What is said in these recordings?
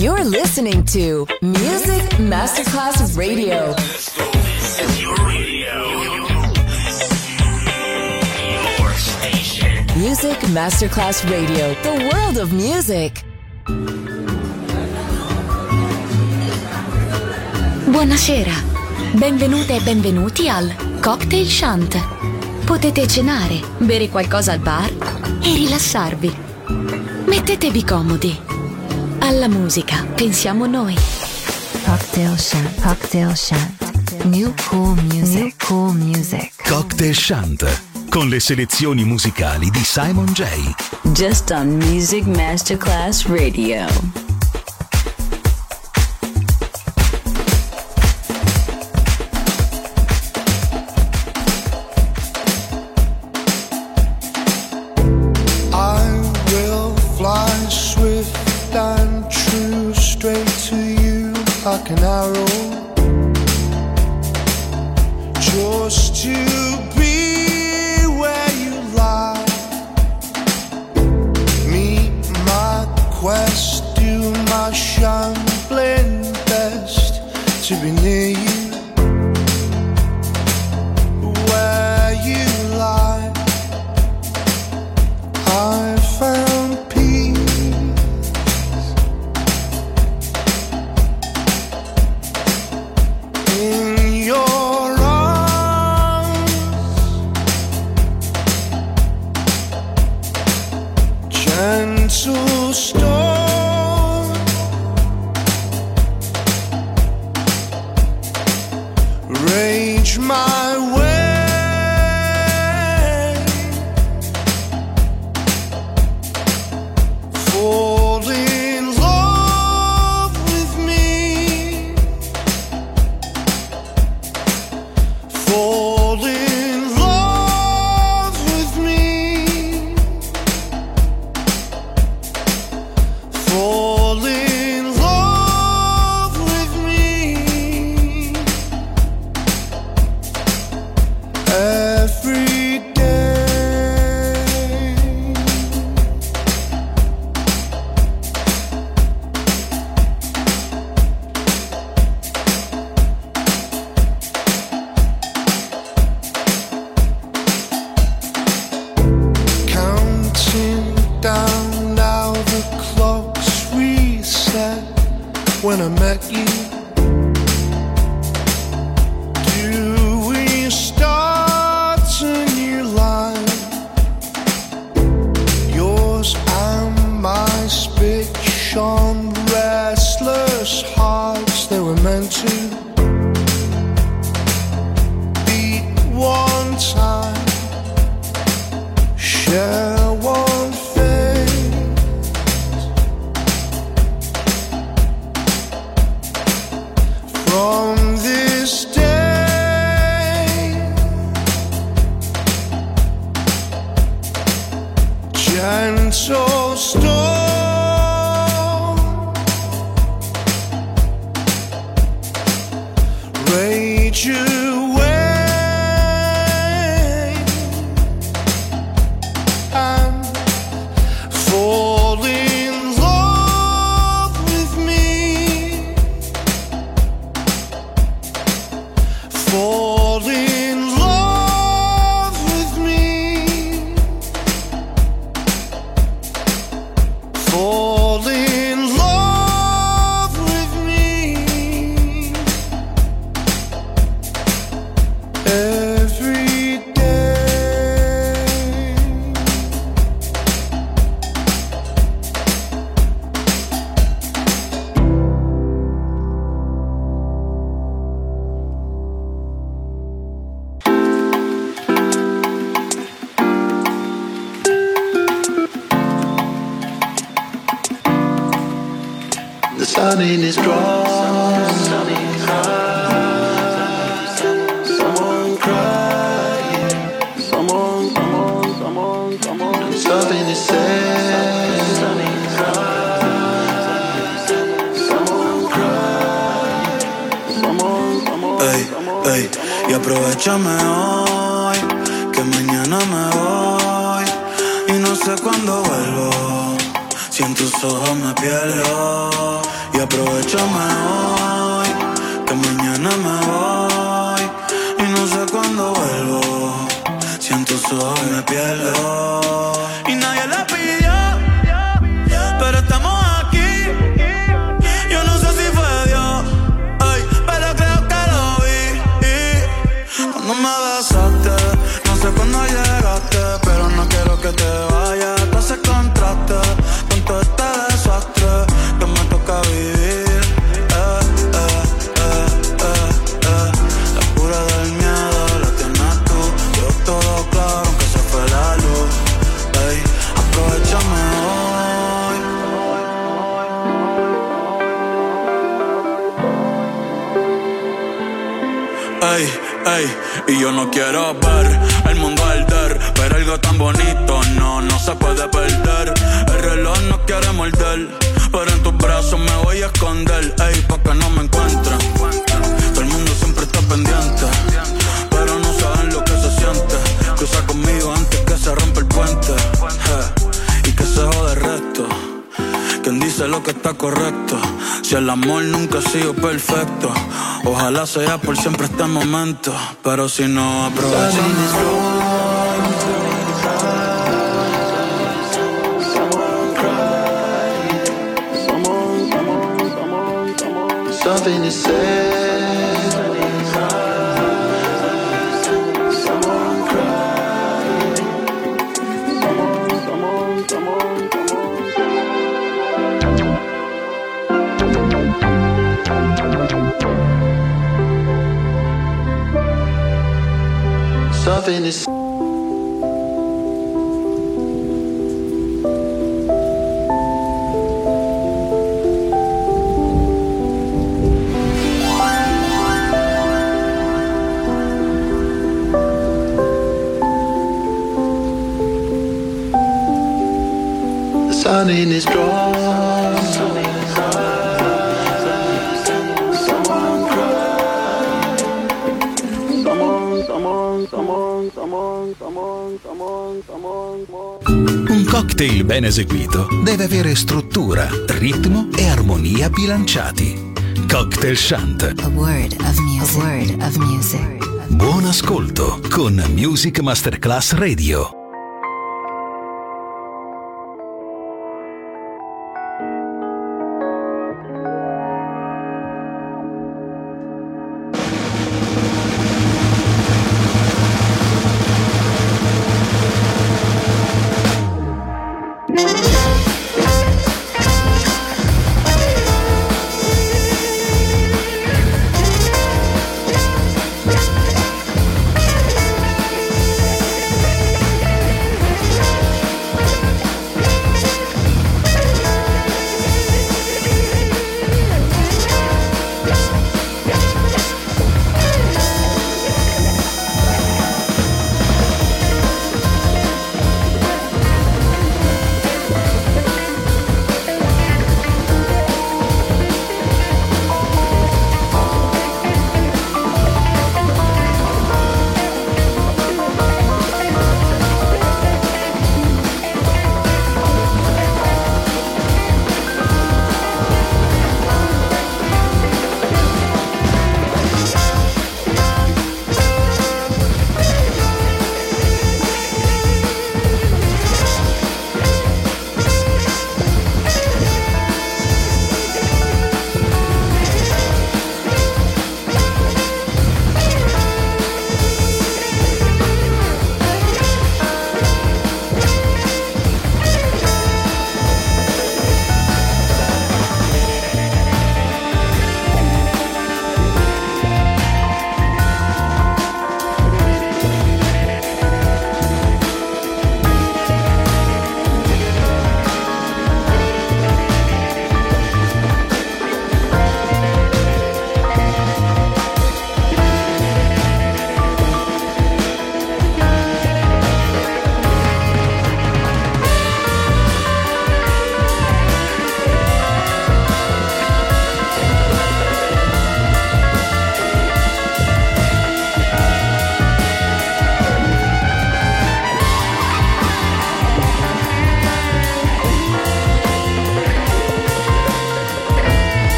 You're listening to Music Masterclass Radio. Your radio. Your station. Music Masterclass Radio. The world of music. Buonasera. Benvenute e benvenuti al Cocktail Shant. Potete cenare, bere qualcosa al bar e rilassarvi. Mettetevi comodi. Alla musica pensiamo noi. Cocktail Shant. Cocktail Shant. New cool music. New cool music. Cocktail Shant, con le selezioni musicali di Simon J. Just on Music Masterclass Radio. Like an arrow, just to be where you lie. Meet my quest, do my shambling best to be near you, where you lie. I found sun in his drawers. Someone crying. Someone and something is said. Someone crying. Ey, y aprovechame hoy, que mañana me voy y no sé cuándo vuelvo. Si en tus ojos me pierdo y aprovechame hoy, que mañana me voy y no sé cuándo vuelvo. Siento solo y me pierdo y nadie le pidió, pero estamos aquí. Yo no sé si fue Dios, ay, pero creo que lo vi. Cuando me besaste, no sé cuándo llegaste, pero no quiero que te vayas. Tú haces contraste con todo este desastre que me toca vivir. La cura del miedo la tienes tú. Yo todo claro aunque se fue la luz. Ey, aprovechame hoy. Ey, ey, y yo no quiero ver el mundo arder, pero algo tan bonito no se puede perder. El reloj no quiere morder, pero en tus brazos me voy a esconder. Ey, pa' que no me encuentren. Todo el mundo siempre está pendiente, pero no saben lo que se siente. Cruza conmigo antes que se rompa el puente, y que se jode el resto. Quien dice lo que está correcto, si el amor nunca ha sido perfecto, ojalá sea por siempre este momento, pero si no aprovechamos. Something to say. Someone cry. Come on. Something to say. Something is strong. Someone cry. Un cocktail ben eseguito deve avere struttura, ritmo e armonia bilanciati. Cocktail Shant. A word of music. A word of music. Buon ascolto con Music Masterclass Radio.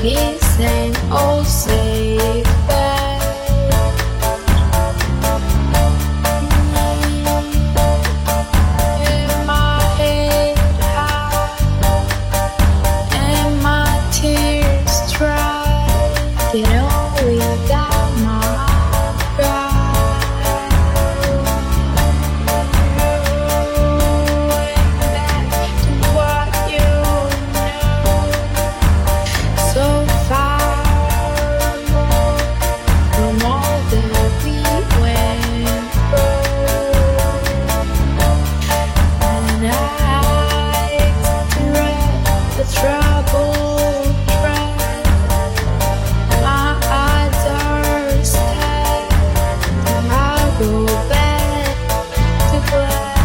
peace and all safe bed. In my head high and my tears dry, get on without my pride. Going back to what you know, so far from all that we went through. And I dread the troubled dread. My eyes are sad, and I go back to black.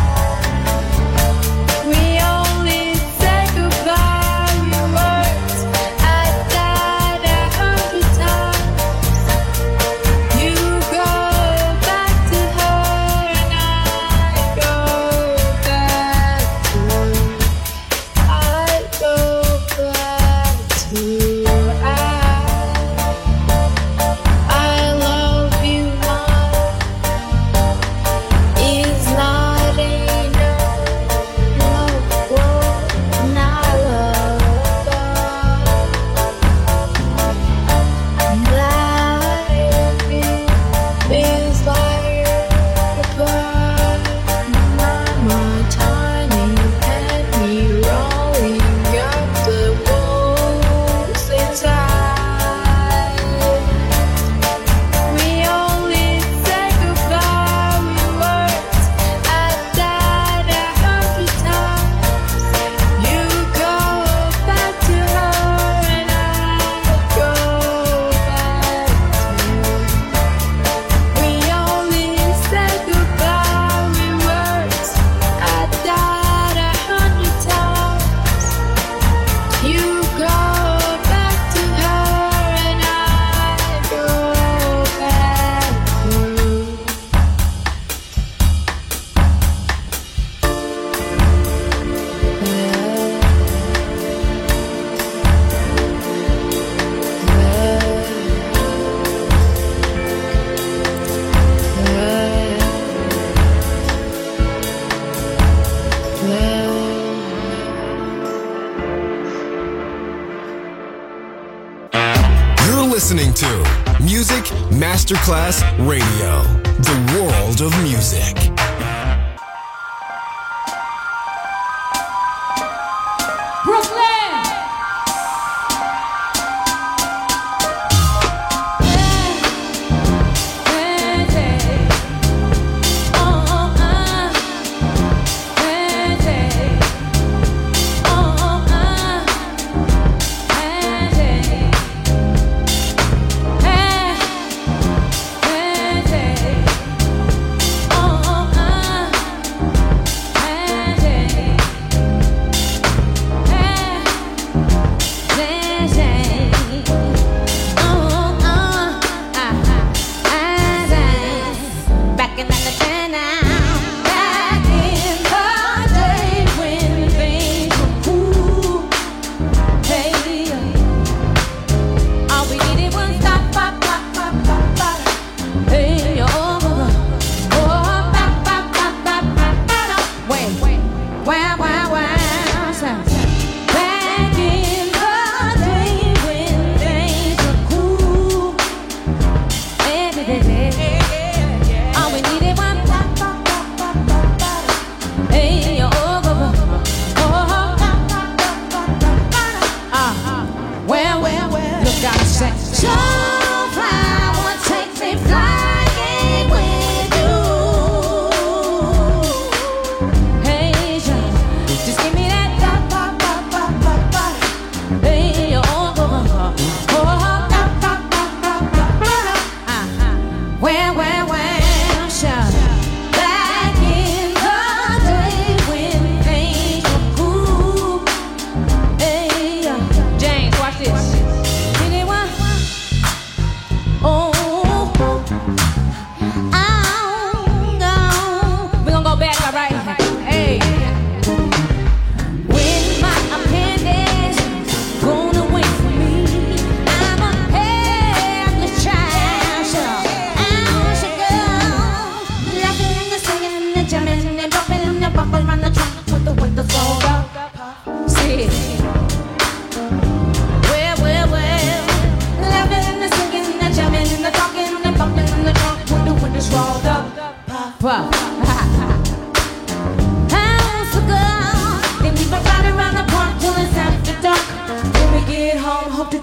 We only say goodbye with words. I died 100 times. You go back to her, and I go back to her. I go back to I love you more is not enough. Love will not love Life is like a bird, my tiny penny rolling up the walls inside. We only say goodbye with words. I died 100 times. You go back to her, and I go back to you. We only say goodbye with words. I died 100 times. You go back to her, and I go back to you. You're listening to Music Masterclass Radio, the world of music.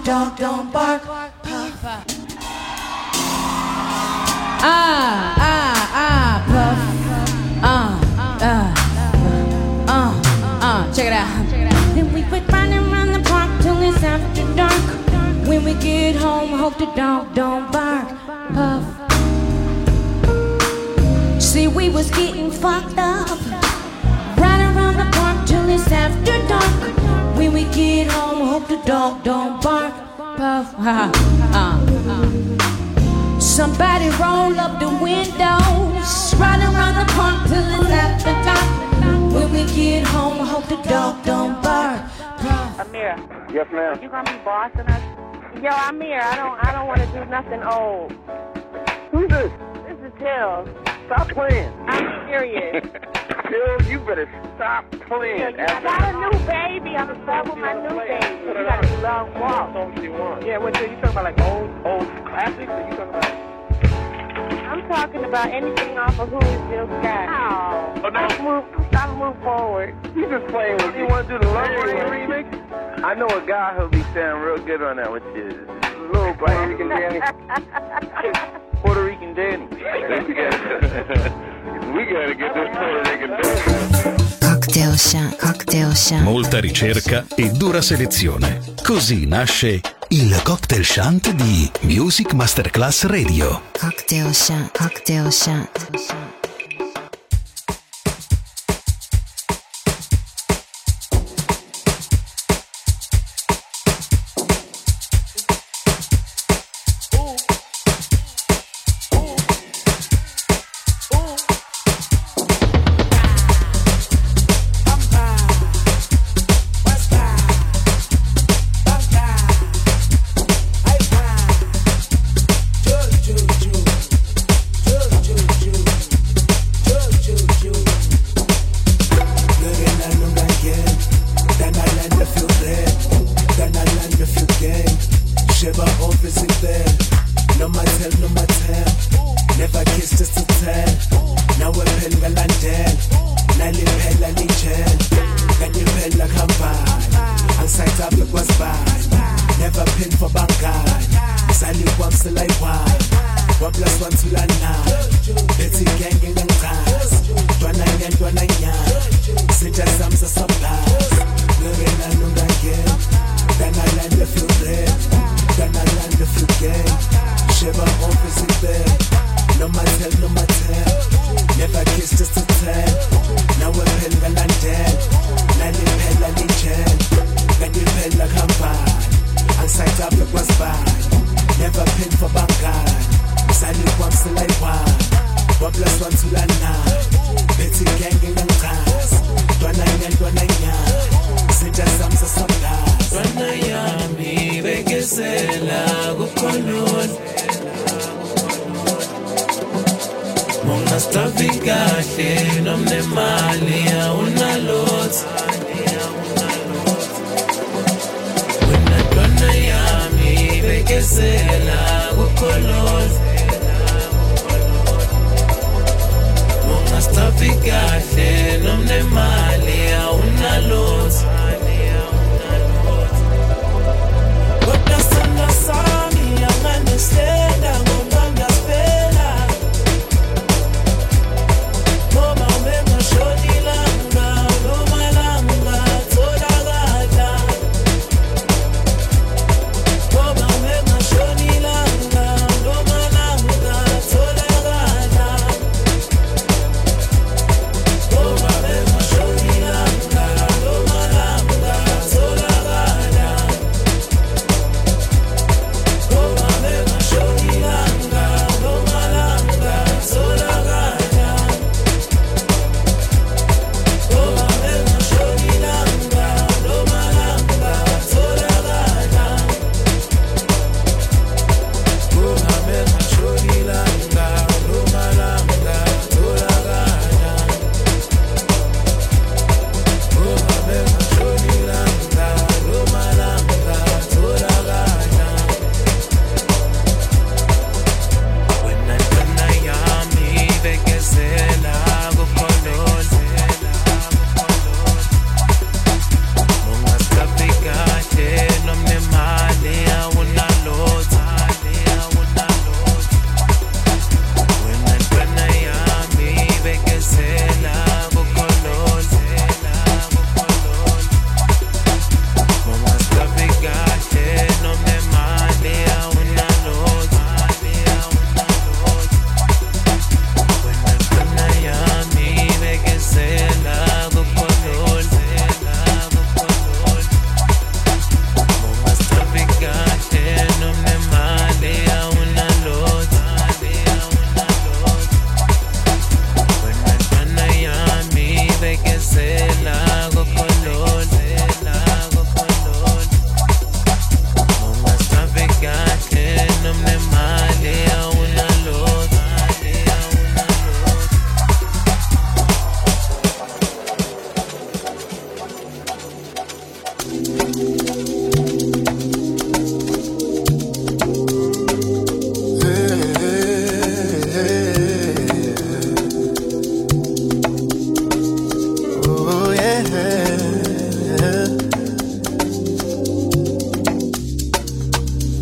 dog don't bark. Puff. Puff. Check it out. Then we would run around the park till it's after dark. When we get home, hope the dog don't bark. Puff. See, we was getting fucked up. Right around the park till it's after dark. When we get home, hope the dog don't bark. Puff. Somebody roll up the windows. Right around the park till it's after dark. When we get home, hope the dog don't bark. Puff. Amir. Yes, ma'am. You gonna be bossing us? Yo, Amir, I don't want to do nothing old. Who's this? This is Till. Stop playing. I'm serious. Till, you better stop playing. I got a new baby. I'm in love with my new baby. You got a long walk. Yeah, what you talking about, like old classics? Or you talking about? I'm talking about anything off of Who Is Jill Scott. Oh, no. Stop move forward. You just playing with me. You want to do the Love Rain remix? I know a guy who'll be sounding real good on that, which is little Puerto Rican Danny. Puerto Rican Danny. We gotta get this Puerto Rican Danny. Cocktail Shant. Molta ricerca e dura selezione. Così nasce il Cocktail Shant di Music Masterclass Radio. Cocktail Shant.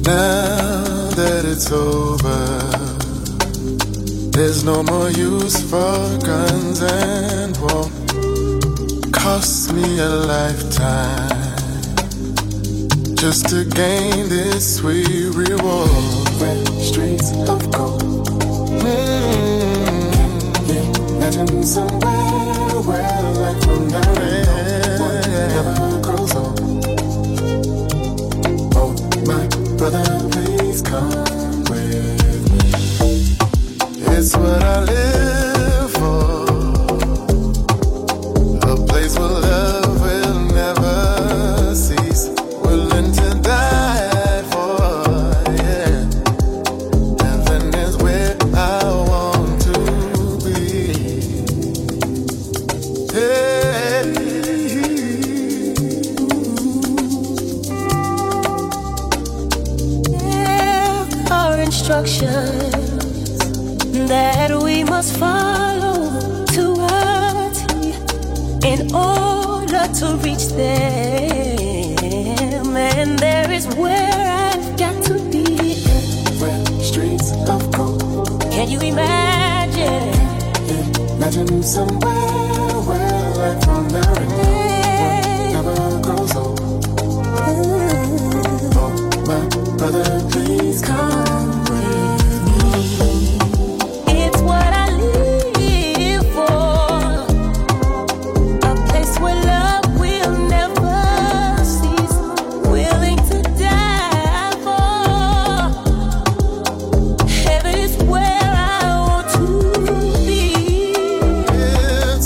Now that it's over, there's no more use for guns and war. Cost me a lifetime just to gain this sweet reward. Red streets of gold. Imagine somewhere where life from now never grows old. Oh, my brother, please come with me. It's what I live for. A place where love will never cease. Willing to die for, yeah. Heaven is where I want to be. Hey. There are instructions that we must follow to a T in order to reach them. And there is where I've got to be. Red streets of gold. Can you imagine? Imagine somewhere where life from now never grows old. Oh, my brother, please come with me. It's what I live for. A place where love will never cease. Willing to die for. Heaven is where I want to be. It's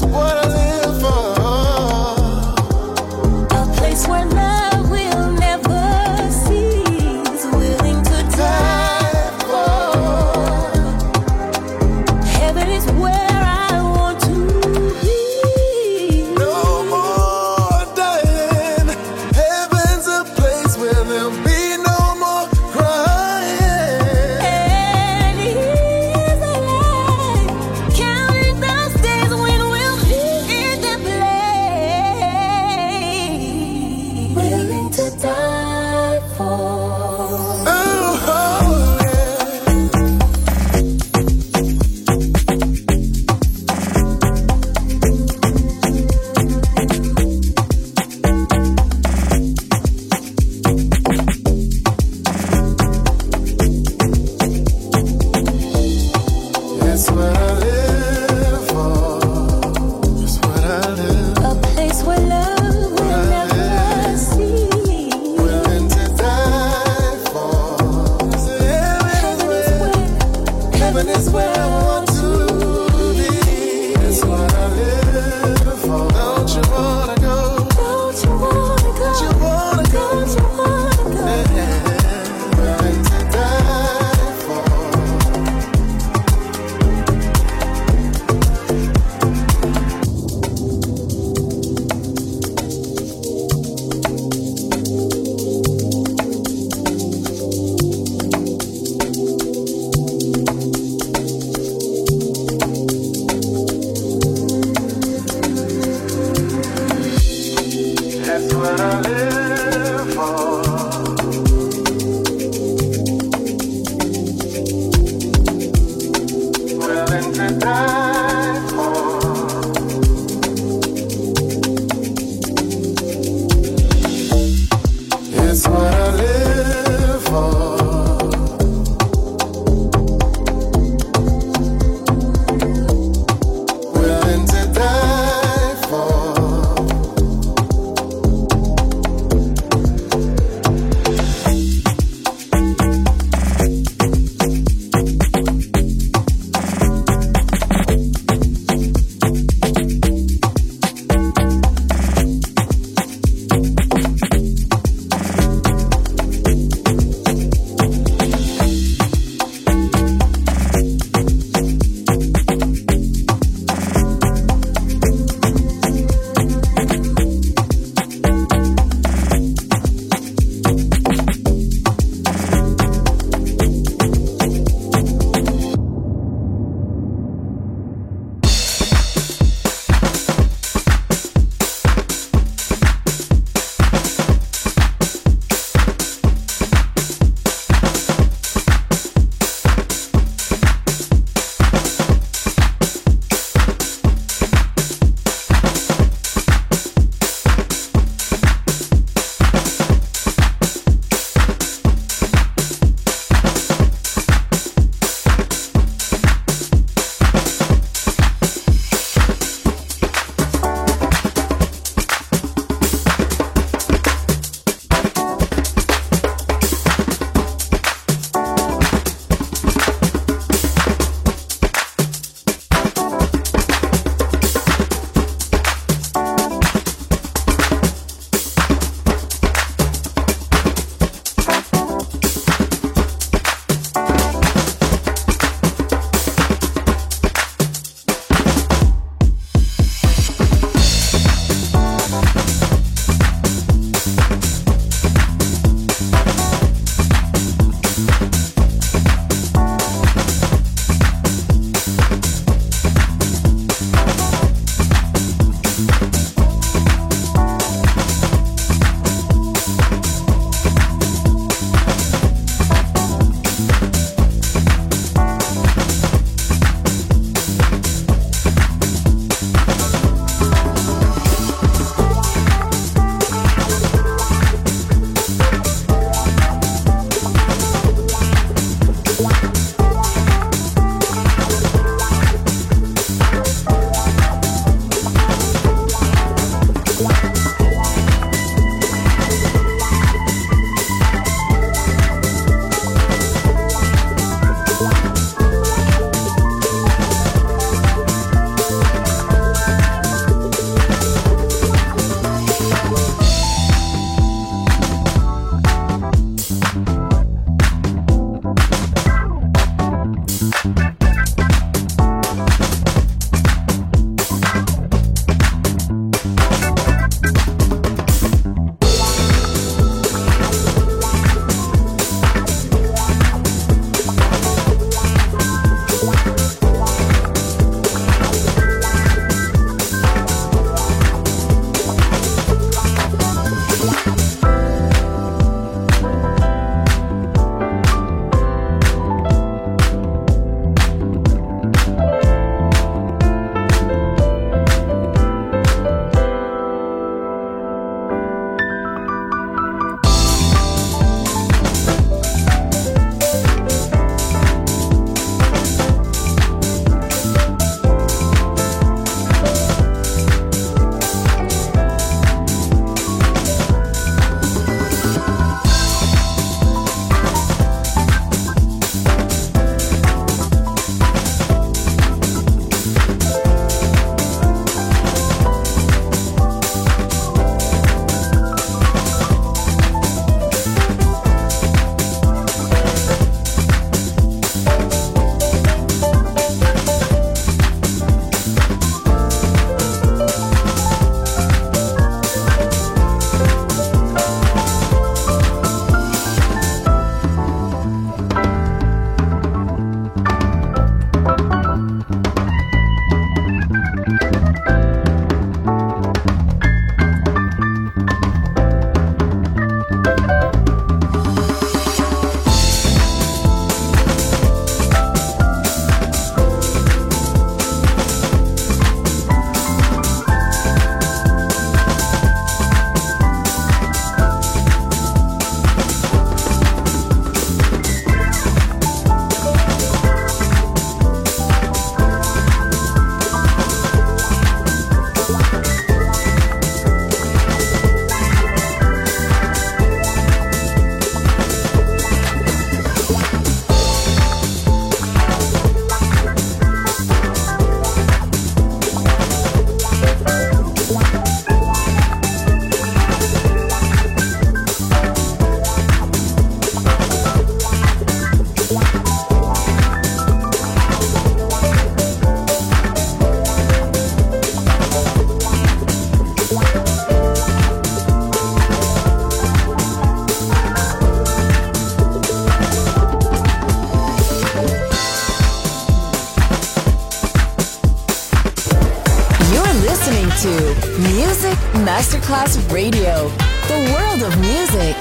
Music Masterclass Radio. The world of music.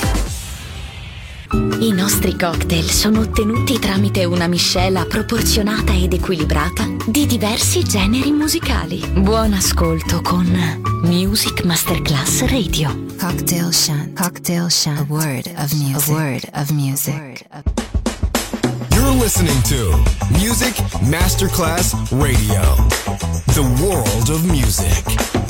I nostri cocktail sono ottenuti tramite una miscela proporzionata ed equilibrata di diversi generi musicali. Buon ascolto con Music Masterclass Radio. Cocktail Shant. Cocktail Shant. A word of music. A word of music. You're listening to Music Masterclass Radio. The world of music.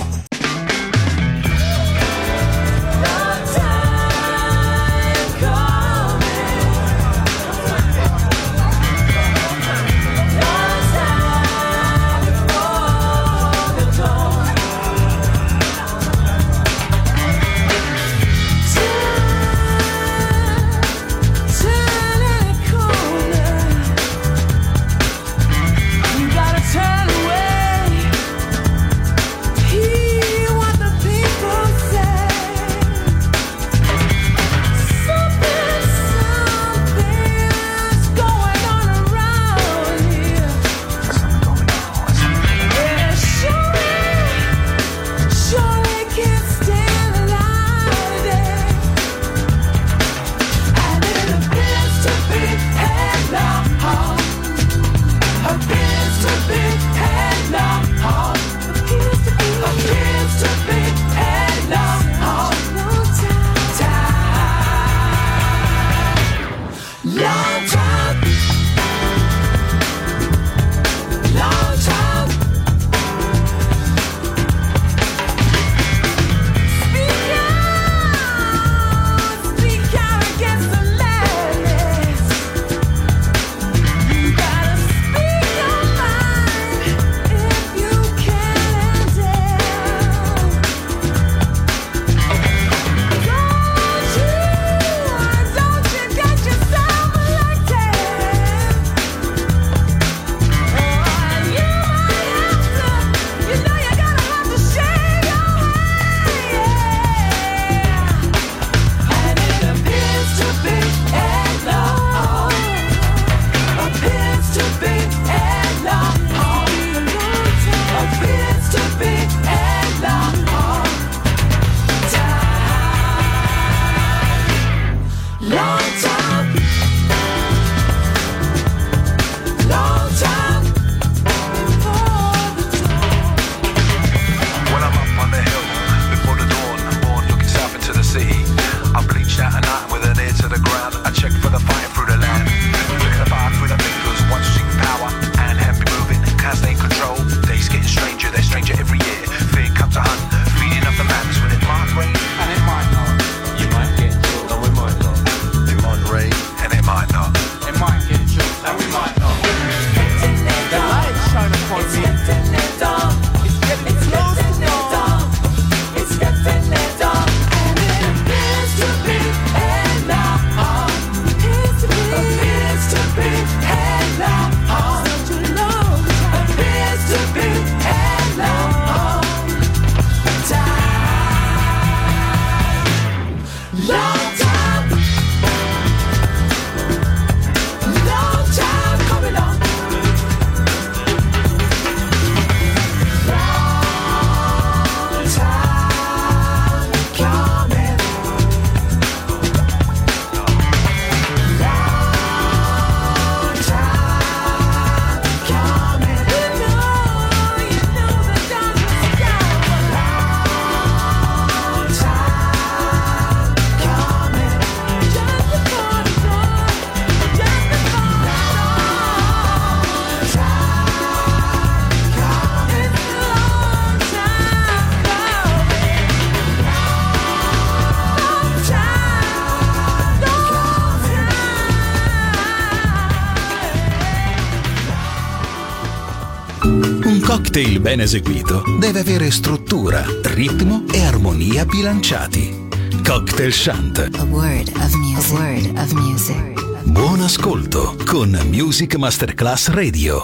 cocktail ben eseguito deve avere struttura, ritmo e armonia bilanciati. Cocktail Shant. A word of music. A word of music. Buon ascolto con Music Masterclass Radio.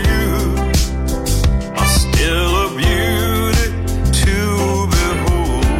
Still a beauty to behold.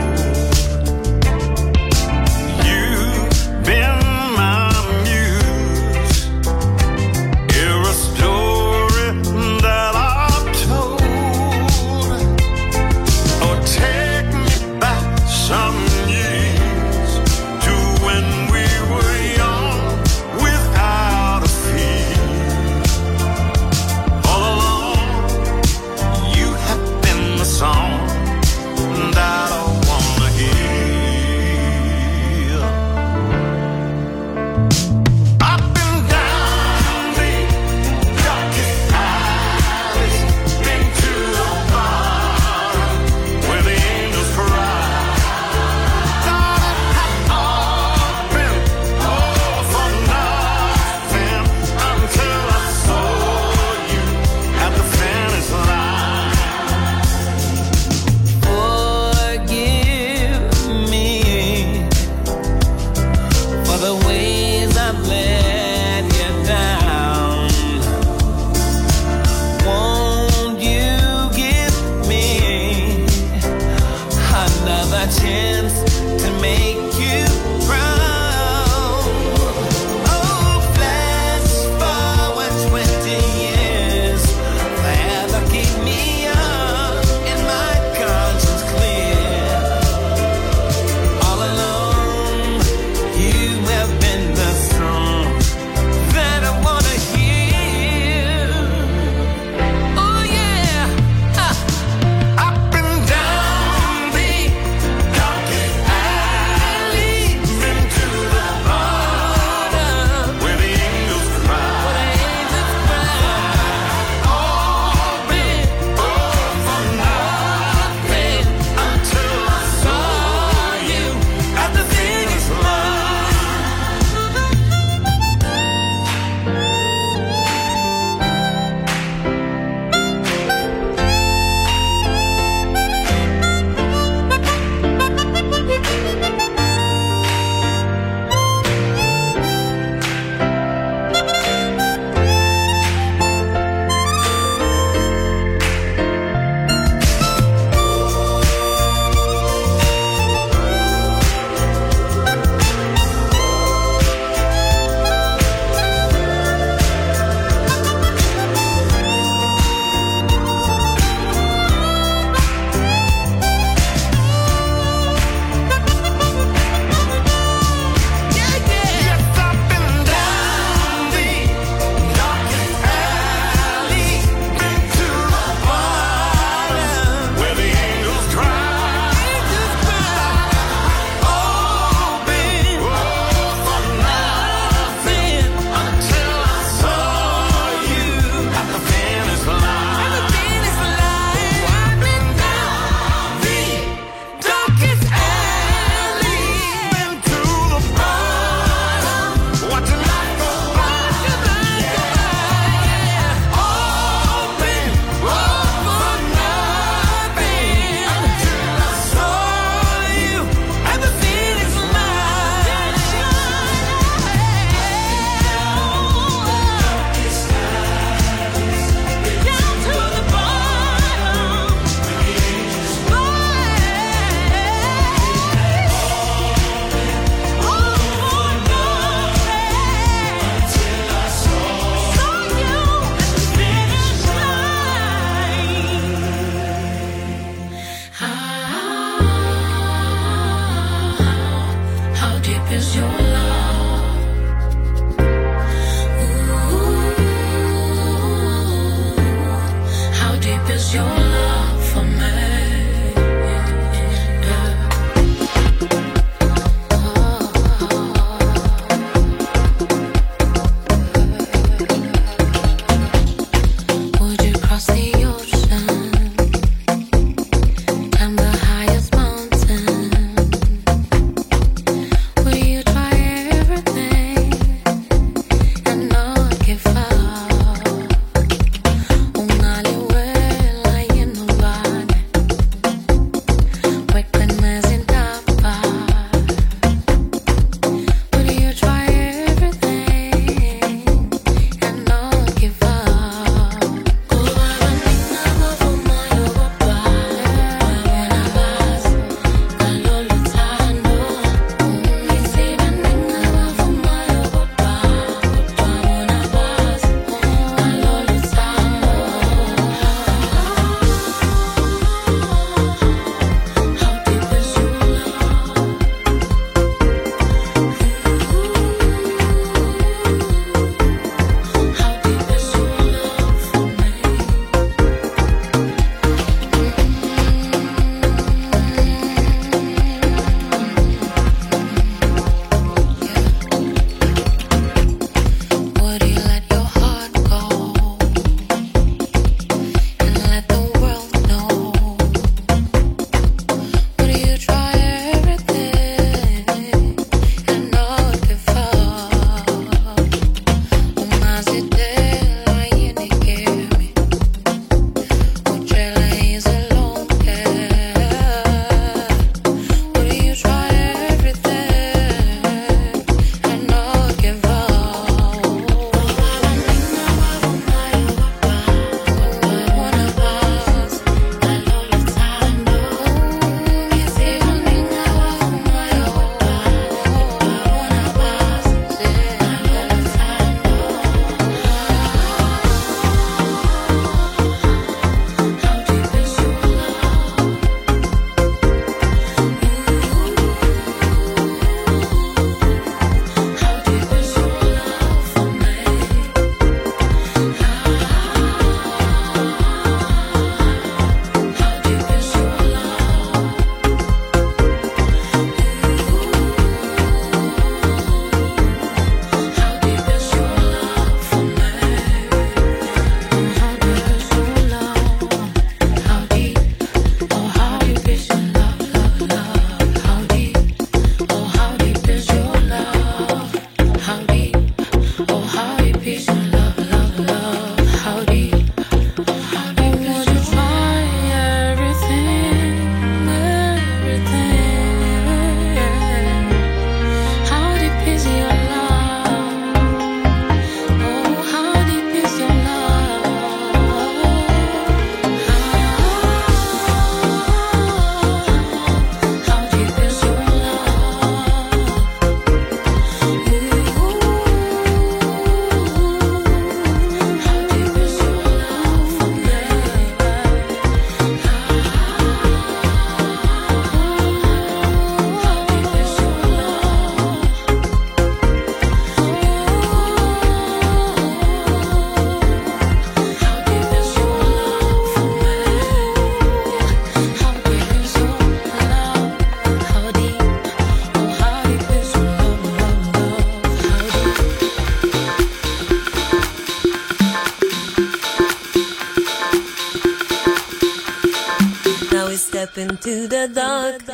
step into the dark.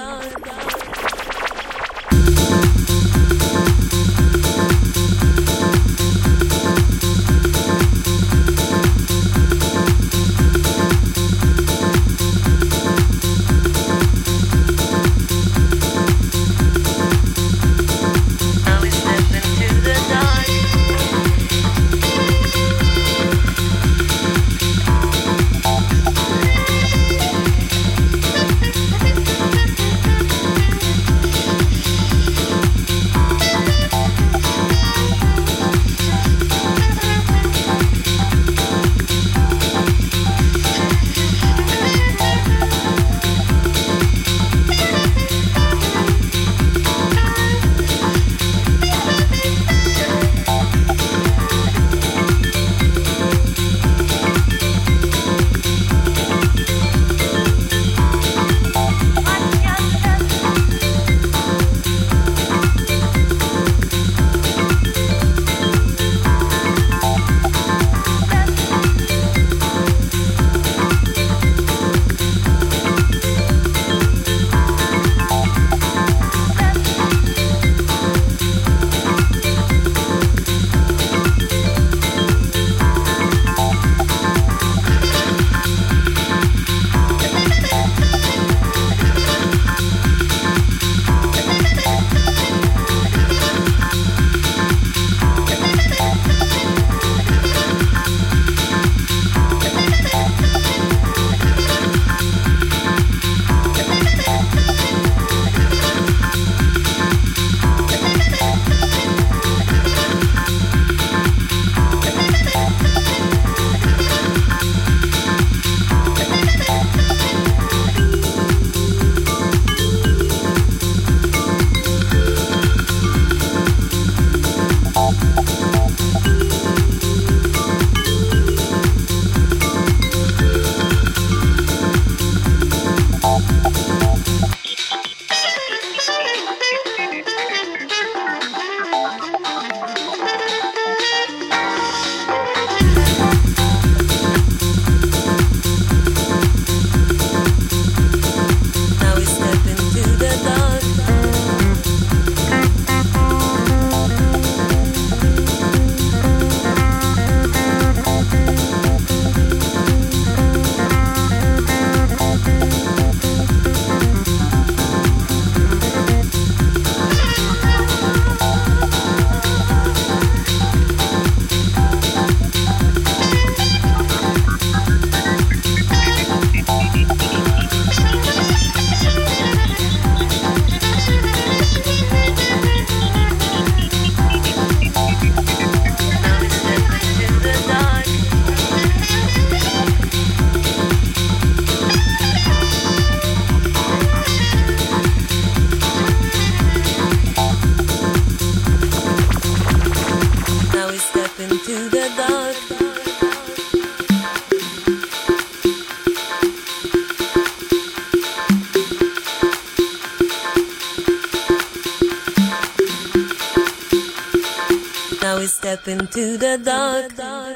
Step into the dark.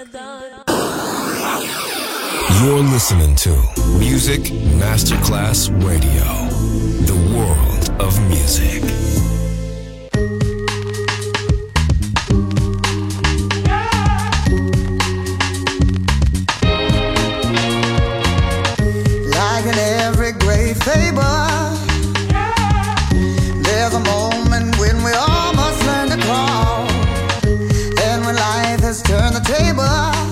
You're listening to Music Masterclass Radio, the world of music. Like in every great fable, there's a moment when we all must learn to crawl. Life has turned the table.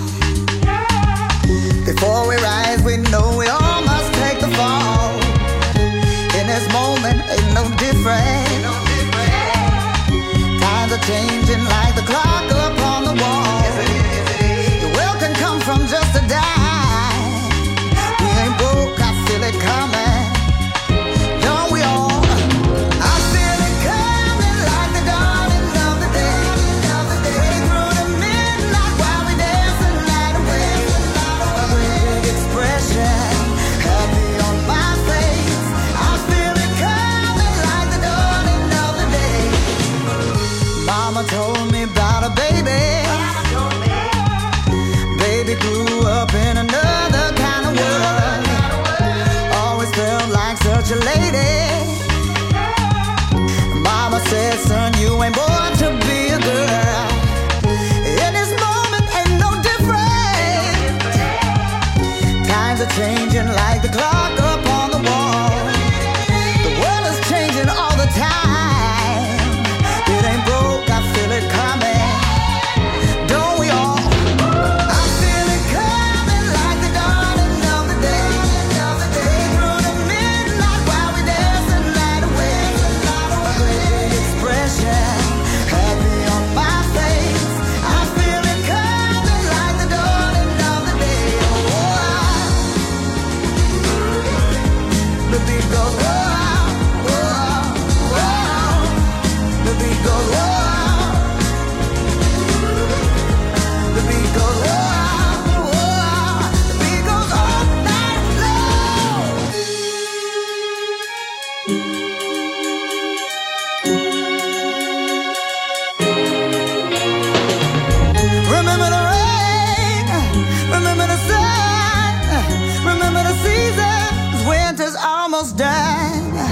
Before we rise, we know we all must take the fall. In this moment, ain't no different. Times are changing like the clock upon the wall. The world can come from just a dime. We ain't broke, I feel it coming. Don't we all? I feel it coming like the dawning of the day. Mama told me about a baby. Baby grew up in another kind of world. Always felt like Remember the rain, remember the sun, remember the seasons, winter's almost done.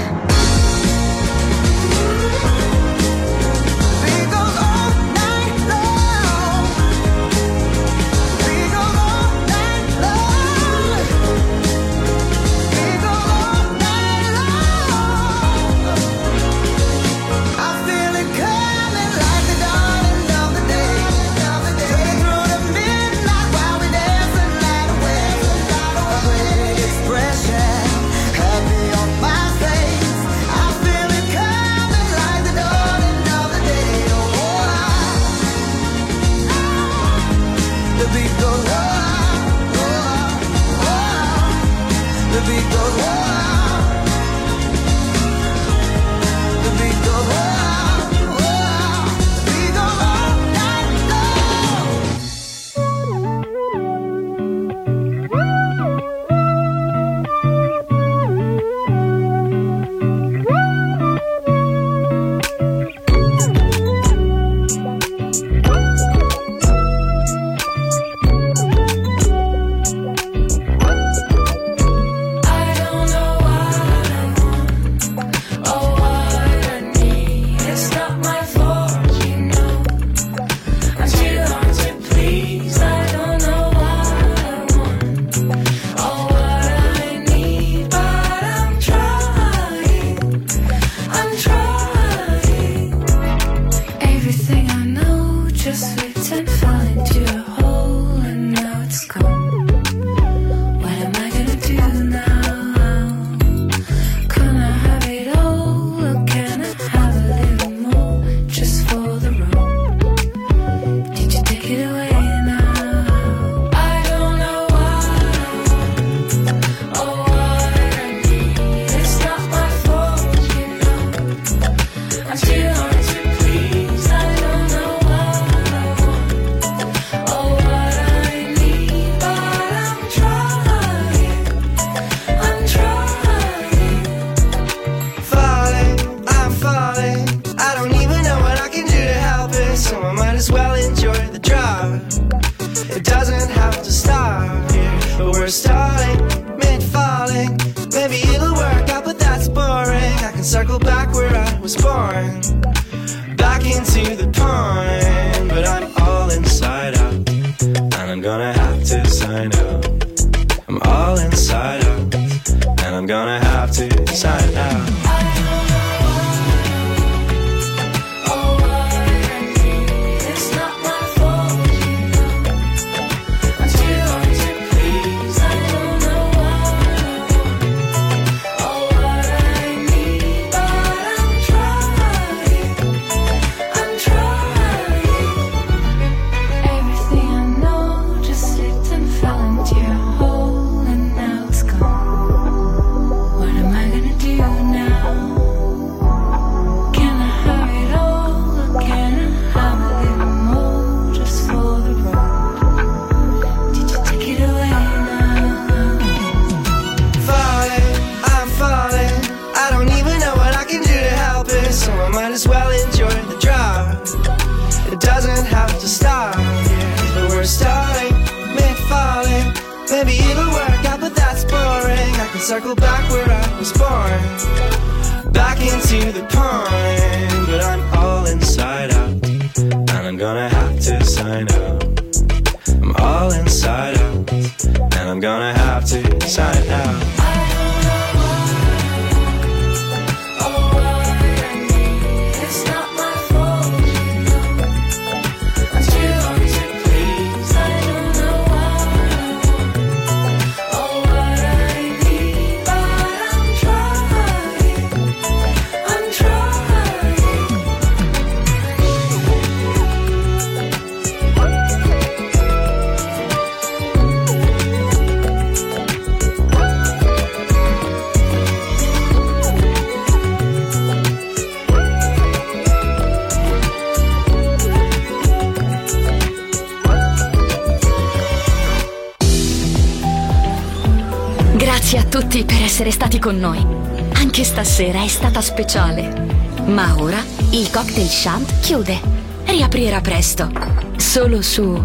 Grazie a tutti per essere stati con noi. Anche stasera è stata speciale. Ma ora il Cocktail Shant chiude. Riaprirà presto. Solo su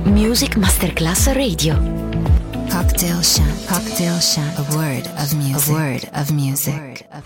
Music Masterclass Radio. Cocktail Chant. Cocktail Chant. A word of music. A word of music.